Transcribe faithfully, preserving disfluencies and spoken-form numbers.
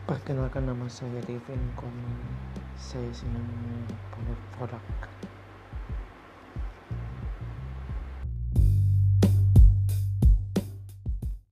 Perkenalkan, nama saya Devin Koman. Saya senang produk-produk